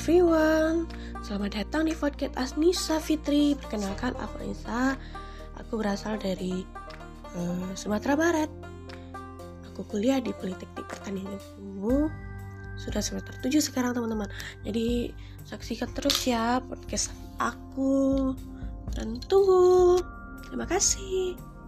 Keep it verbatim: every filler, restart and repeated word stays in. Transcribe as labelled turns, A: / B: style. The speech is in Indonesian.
A: everyone, selamat datang di podcast Asnisa Fitri. Perkenalkan, aku Anissa. Aku berasal dari uh, Sumatera Barat. Aku kuliah di Politeknik Pertanian Ilmu. Sudah semester tujuh sekarang teman-teman. Jadi saksikan terus ya podcast aku. Dan tunggu. Terima kasih.